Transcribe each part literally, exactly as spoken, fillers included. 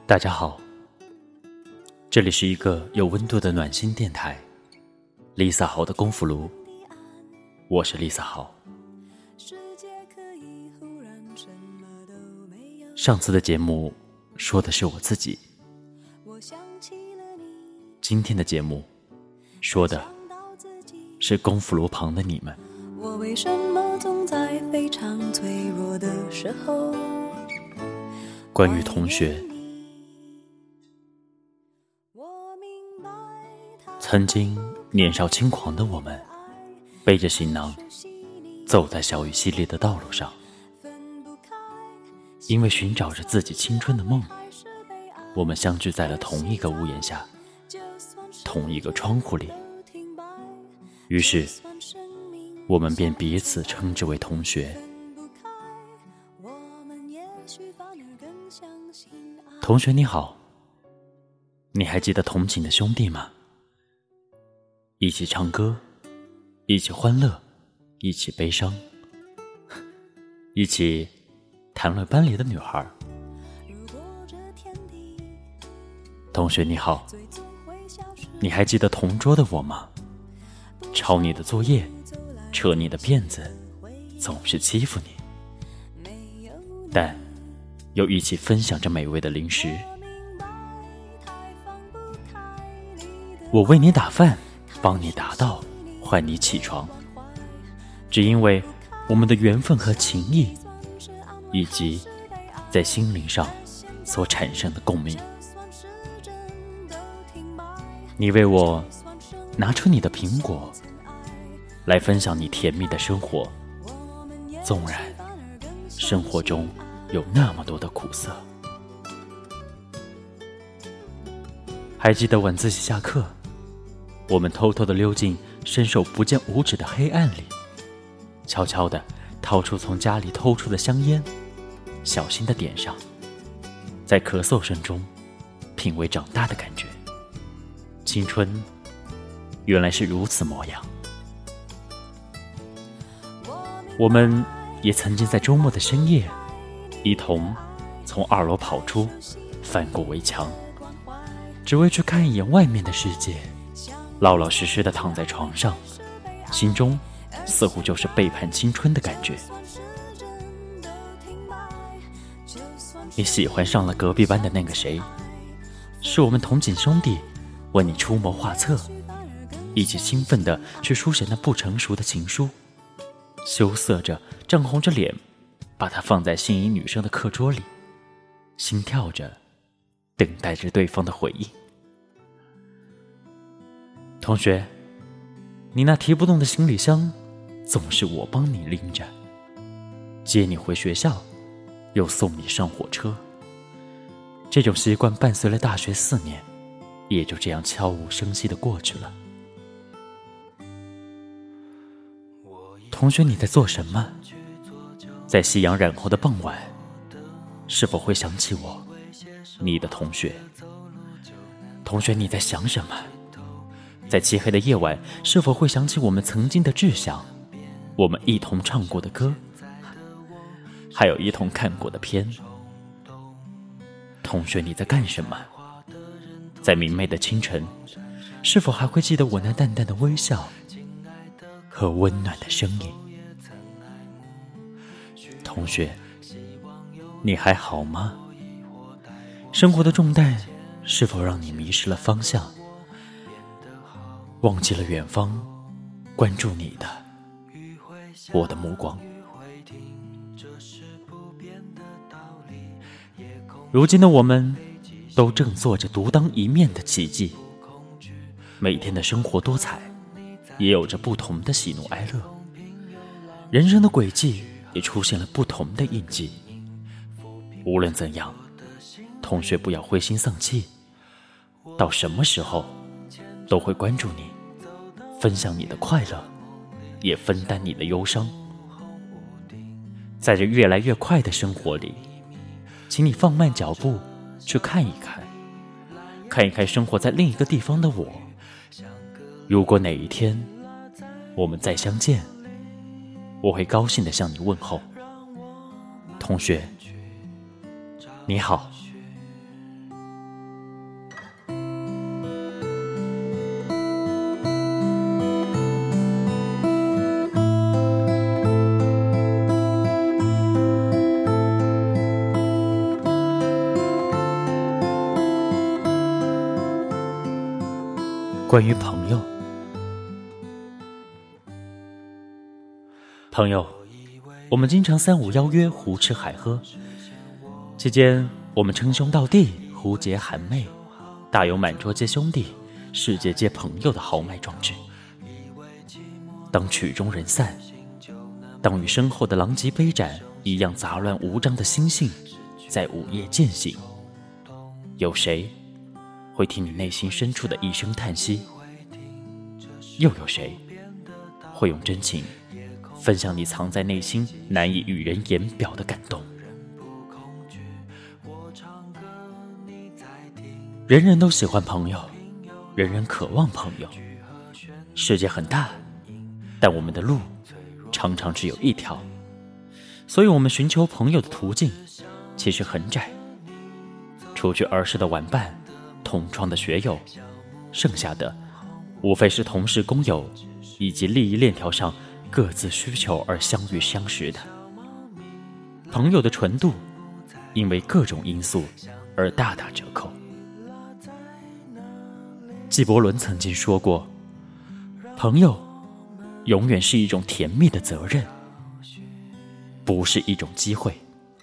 大家好，这里是一个有温度的暖心电台 Lisa 好的功夫炉，我是 Lisa 好。上次的节目说的是我自己，今天的节目说的是功夫炉旁的你们。 我为什么总在非常脆弱的时候？ 关于同学，曾经年少轻狂的我们，背着行囊走在小雨淅沥的道路上，因为寻找着自己青春的梦，我们相聚在了同一个屋檐下，同一个窗户里，于是我们便彼此称之为同学。同学你好，你还记得同寝的兄弟吗？一起唱歌，一起欢乐，一起悲伤，一起谈论班里的女孩。同学你好，你还记得同桌的我吗？抄你的作业，扯你的辫子，总是欺负你，但又一起分享着美味的零食。我为你打饭，帮你打道，唤你起床，只因为我们的缘分和情谊，以及在心灵上所产生的共鸣。你为我拿出你的苹果，来分享你甜蜜的生活，纵然生活中有那么多的苦涩。还记得晚自习下课，我们偷偷地溜进伸手不见五指的黑暗里，悄悄地掏出从家里偷出的香烟，小心地点上，在咳嗽声中品味长大的感觉。青春原来是如此模样。我们也曾经在周末的深夜，一同从二楼跑出，翻过围墙，只为去看一眼外面的世界，老老实实地躺在床上，心中似乎就是背叛青春的感觉。你喜欢上了隔壁班的那个谁，是我们同寝兄弟为你出谋划策，一起兴奋地去书写那不成熟的情书，羞涩着涨红着脸，把它放在心仪女生的课桌里，心跳着等待着对方的回应。同学，你那提不动的行李箱总是我帮你拎着，接你回学校，又送你上火车。这种习惯伴随了大学四年，也就这样悄无声息地过去了。同学，你在做什么？在夕阳染红的傍晚，是否会想起我，你的同学？同学，你在想什么？在漆黑的夜晚，是否会想起我们曾经的志向，我们一同唱过的歌，还有一同看过的片？同学，你在干什么？在明媚的清晨，是否还会记得我那淡淡的微笑和温暖的声音？同学，你还好吗？生活的重担是否让你迷失了方向，忘记了远方关注你的我的目光？如今的我们都正做着独当一面的奇迹，每天的生活多彩，也有着不同的喜怒哀乐，人生的轨迹也出现了不同的印记。无论怎样，同学不要灰心丧气，到什么时候都会关注你，分享你的快乐，也分担你的忧伤。在这越来越快的生活里，请你放慢脚步去看一看，看一看生活在另一个地方的我。如果哪一天我们再相见，我会高兴地向你问候。同学，你好， 关于朋友。朋友，我们经常三五邀约，胡吃海喝，期间我们称兄道弟，胡结含媚，大有满桌皆兄弟，世界皆朋友的豪迈壮志。当曲终人散，当与身后的狼藉杯盏一样杂乱无章的心性在午夜渐醒，有谁会听你内心深处的一声叹息？又有谁会用真情分享你藏在内心难以与人言表的感动？人人都喜欢朋友，人人渴望朋友。世界很大，但我们的路常常只有一条，所以我们寻求朋友的途径其实很窄。除去儿时的玩伴，同窗的学友，剩下的无非是同事工友，以及利益链条上各自需求而相遇相识的。朋友的纯度因为各种因素而大打折扣。纪伯伦曾经说过，朋友永远是一种甜蜜的责任，不是一种机会。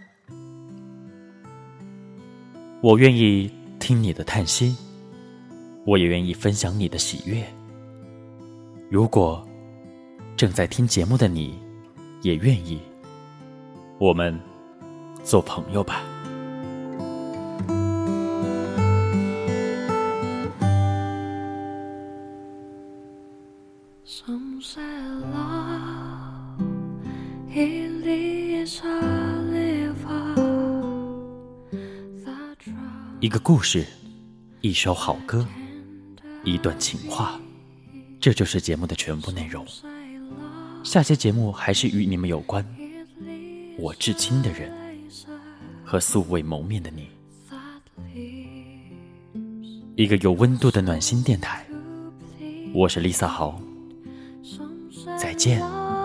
我愿意听你的叹息，我也愿意分享你的喜悦。如果正在听节目的你也愿意，我们做朋友吧。 Some say love, it is a river that drowns 一个故事，一首好歌，一段情话，这就是节目的全部内容。下期节目还是与你们有关，我至亲的人和素未谋面的你。一个有温度的暖心电台，我是Lisa豪，再见。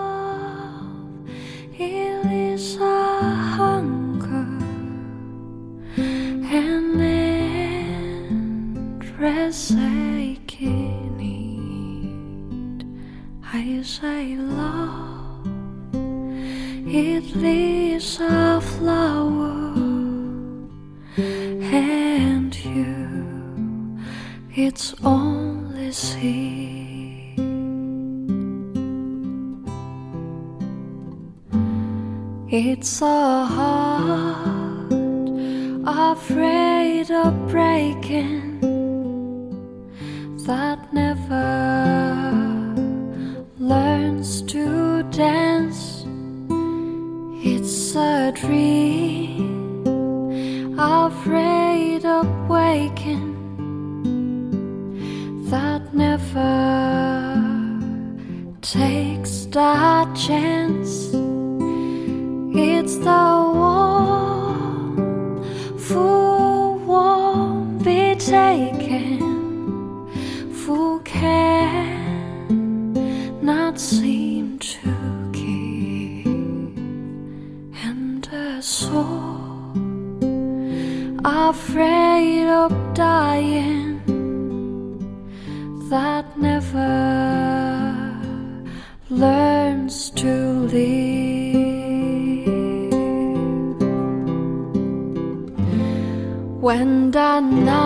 I say love, it is a flower, and you, it's only seed. It's a heart afraid of breaking, that never learns to dance. It's a dream afraid of waking, that never takes that chance. It's the one who won't be taken, who can not seem to keep, and a soul afraid of dying, that never learns to live. When the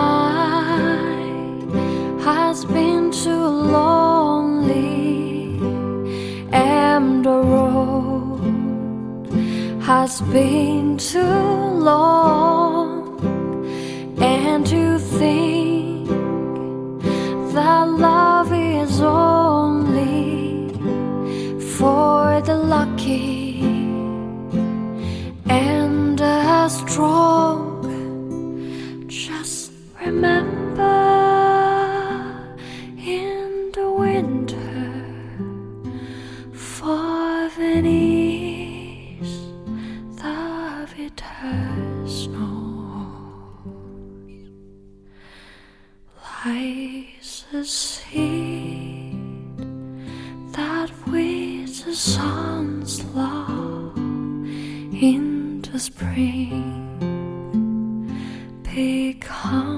night has been too lonely, and the road has been too long, and you think that love is only for the lucky and the strong, just remember, in the winter, for Venice, the bitter snow lies a seed that with the sun's love in the spring become